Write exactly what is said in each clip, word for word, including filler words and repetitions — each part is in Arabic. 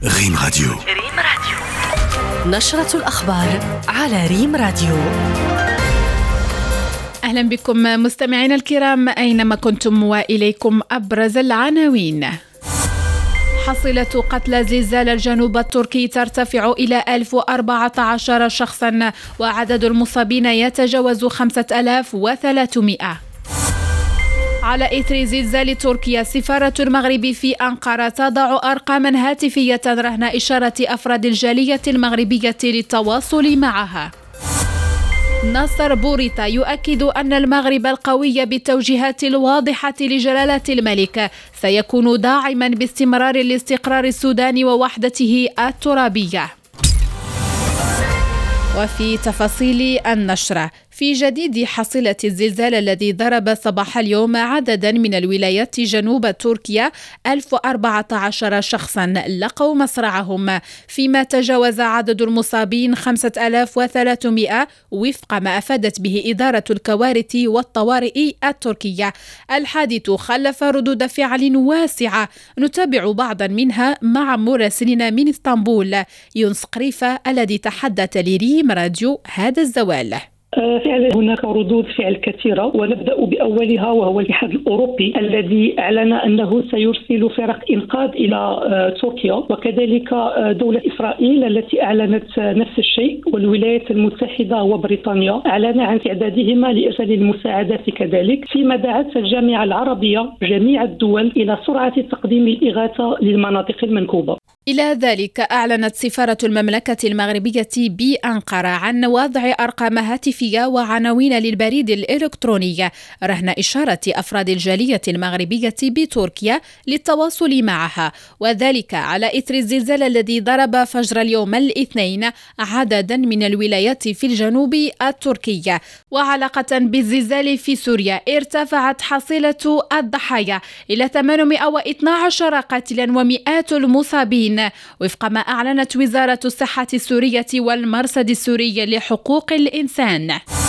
ريم راديو. ريم راديو نشرة الأخبار على ريم راديو. أهلا بكم مستمعينا الكرام أينما كنتم، وإليكم أبرز العناوين. حصيلة قتلى زلزال الجنوب التركي ترتفع إلى ألف وأربعة عشر شخصا، وعدد المصابين يتجاوز خمسة آلاف وثلاثمائة. على إثر زلزال تركيا، سفارة المغرب في أنقرة تضع أرقاما هاتفية رهن إشارة أفراد الجالية المغربية للتواصل معها. ناصر بوريطة يؤكد أن المغرب القوي بالتوجيهات الواضحة لجلالة الملك سيكون داعما باستمرار الاستقرار السوداني ووحدته الترابية. وفي تفاصيل النشرة، في جديد حصيلة الزلزال الذي ضرب صباح اليوم عددا من الولايات جنوب تركيا، ألف وأربعة عشر شخصا لقوا مصرعهم، فيما تجاوز عدد المصابين خمسة آلاف وثلاثمائة وفق ما أفادت به إدارة الكوارث والطوارئ التركية. الحادث خلف ردود فعل واسعة نتابع بعضا منها مع مراسلنا من اسطنبول يونس قريفة الذي تحدث لريم راديو هذا الزوال. فعلا هناك ردود فعل كثيرة، ونبدأ بأولها وهو الاتحاد الأوروبي الذي أعلن أنه سيرسل فرق إنقاذ إلى تركيا، وكذلك دولة إسرائيل التي أعلنت نفس الشيء، والولايات المتحدة وبريطانيا أعلن عن استعدادهما لإرسال المساعدات كذلك، فيما دعت الجامعة العربية جميع الدول إلى سرعة تقديم الإغاثة للمناطق المنكوبة. إلى ذلك أعلنت سفارة المملكة المغربية بأنقرة عن وضع أرقام هاتفية وعناوين للبريد الإلكتروني رهن إشارة أفراد الجالية المغربية بتركيا للتواصل معها، وذلك على إثر الزلزال الذي ضرب فجر اليوم الاثنين عددا من الولايات في الجنوب التركي. وعلاقة بالزلزال في سوريا، ارتفعت حصيلة الضحايا إلى ثمانمائة واثني عشر قاتلا ومئات المصابين وفق ما أعلنت وزارة الصحة السورية والمرصد السوري لحقوق الإنسان.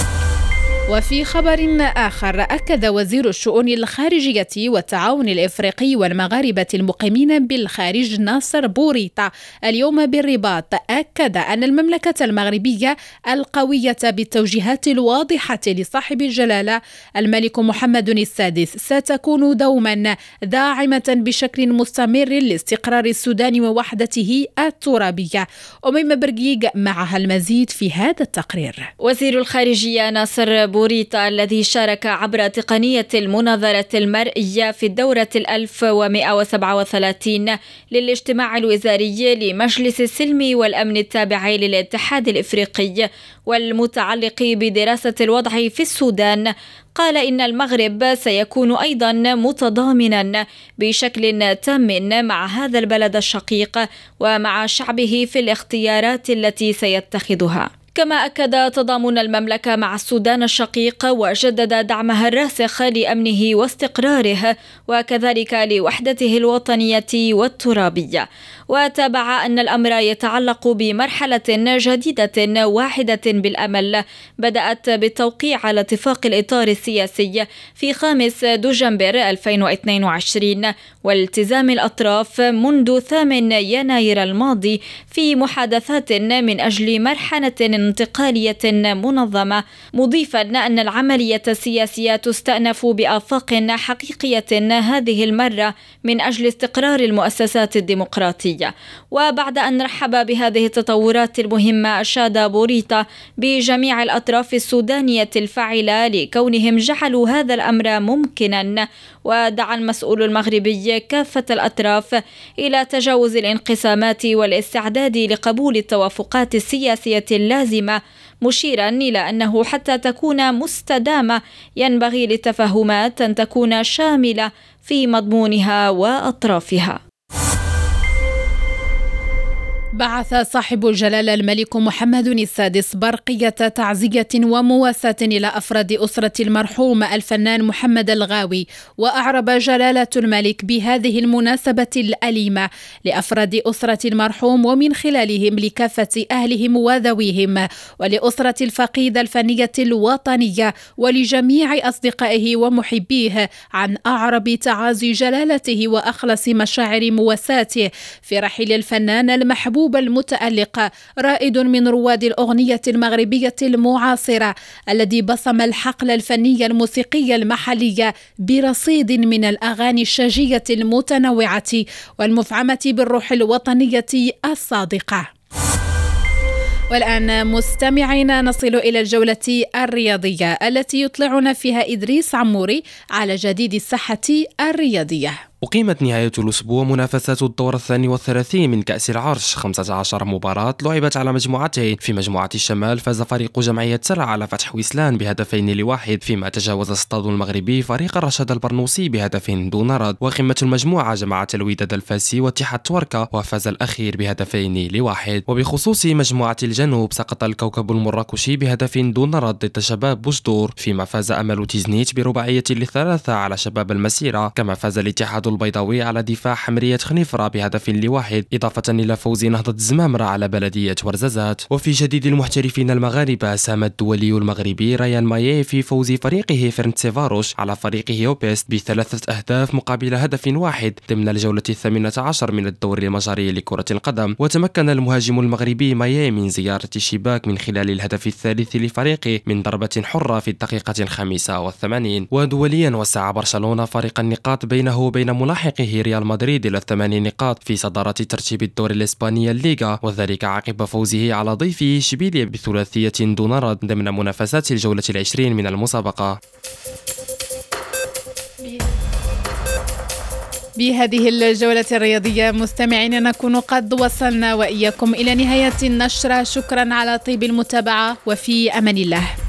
وفي خبر آخر، أكد وزير الشؤون الخارجية والتعاون الإفريقي والمغاربة المقيمين بالخارج ناصر بوريطة اليوم بالرباط، أكد أن المملكة المغربية القوية بالتوجيهات الواضحة لصاحب الجلالة الملك محمد السادس ستكون دوما داعمة بشكل مستمر لاستقرار السودان ووحدته الترابية. أميمة برقيق معها المزيد في هذا التقرير. وزير الخارجية ناصر بوريطة الذي شارك عبر تقنية المناظرة المرئية في الدورة الألف ومئة وسبعة وثلاثين للاجتماع الوزاري لمجلس السلم والأمن التابع للاتحاد الإفريقي والمتعلق بدراسة الوضع في السودان، قال إن المغرب سيكون أيضا متضامنا بشكل تام مع هذا البلد الشقيق ومع شعبه في الاختيارات التي سيتخذها. كما أكد تضامن المملكة مع السودان الشقيق وجدد دعمها الراسخ لأمنه واستقراره وكذلك لوحدته الوطنية والترابية. وتابع أن الأمر يتعلق بمرحلة جديدة واحدة بالأمل بدأت بالتوقيع على اتفاق الإطار السياسي في خامس دجنبر ألفين واثنين وعشرين والتزام الأطراف منذ ثامن يناير الماضي في محادثات من أجل مرحلة انتقالية منظمة، مضيفا أن العملية السياسية تستأنف بآفاق حقيقية هذه المرة من أجل استقرار المؤسسات الديمقراطية. وبعد أن رحب بهذه التطورات المهمة، أشاد بوريطة بجميع الأطراف السودانية الفاعلة لكونهم جعلوا هذا الأمر ممكنا، ودعا المسؤول المغربي كافة الأطراف إلى تجاوز الانقسامات والاستعداد لقبول التوافقات السياسية اللازمة، مشيرا إلى أنه حتى تكون مستدامة ينبغي للتفاهمات أن تكون شاملة في مضمونها وأطرافها. بعث صاحب الجلالة الملك محمد السادس برقية تعزية ومواساة إلى أفراد أسرة المرحوم الفنان محمد الغاوي. وأعرب جلالة الملك بهذه المناسبة الأليمة لأفراد أسرة المرحوم ومن خلالهم لكافة أهلهم وذويهم ولأسرة الفقيدة الفنية الوطنية ولجميع أصدقائه ومحبيه عن أعرب تعازي جلالته وأخلص مشاعر مواساته في رحيل الفنان المحبوب المتألق رائد من رواد الأغنية المغربية المعاصرة الذي بصم الحقل الفني الموسيقي المحلي برصيد من الأغاني الشجية المتنوعة والمفعمة بالروح الوطنية الصادقة. والآن مستمعينا نصل إلى الجولة الرياضية التي يطلعنا فيها إدريس عموري على جديد الساحة الرياضية. أقيمت نهاية الأسبوع منافسات الدور الثاني والثلاثين من كأس العرش. خمسة عشر مباراة لعبت على مجموعتين. في مجموعة الشمال فاز فريق جمعية سرع على فتح ويسلان بهدفين لواحد، فيما تجاوز الصطاد المغربي فريق الرشاد البرنوسي بهدف دون رد. وقمة المجموعة جمعت الوداد الفاسي واتحاد توركا وفاز الأخير بهدفين لواحد. وبخصوص مجموعة الجنوب سقط الكوكب المراكشي بهدف دون رد ضد شباب بوجدور، فيما فاز أمل تيزنيت برباعية للثلاثة على شباب المسيرة، كما فاز الاتحاد البيضاوي على دفاع حمرية خنيفرة بهدف لواحد، إضافة إلى فوز نهضة الزمامرة على بلدية ورزازات. وفي جديد المحترفين المغاربة ساهم الدولي المغربي ريان مايي في فوز فريقه فرنتسيفاروش على فريقه أوبيست بثلاثة أهداف مقابل هدف واحد ضمن الجولة الثامنة عشر من الدوري المجري لكرة القدم. وتمكن المهاجم المغربي مايي من زيارة الشباك من خلال الهدف الثالث لفريقه من ضربة حرة في الدقيقة الخامسة والثمانين. ودوليا وسع برشلونة فارق النقاط بينه وبين ملاحقه ريال مدريد إلى ثماني نقاط في صدارة ترتيب الدور الإسباني الليغا، وذلك عقب فوزه على ضيفه إشبيلية بثلاثية دون رد ضمن منافسات الجولة العشرين من المسابقة. بهذه الجولة الرياضية مستمعين نكون قد وصلنا وإياكم إلى نهاية النشرة. شكرا على طيب المتابعة وفي أمان الله.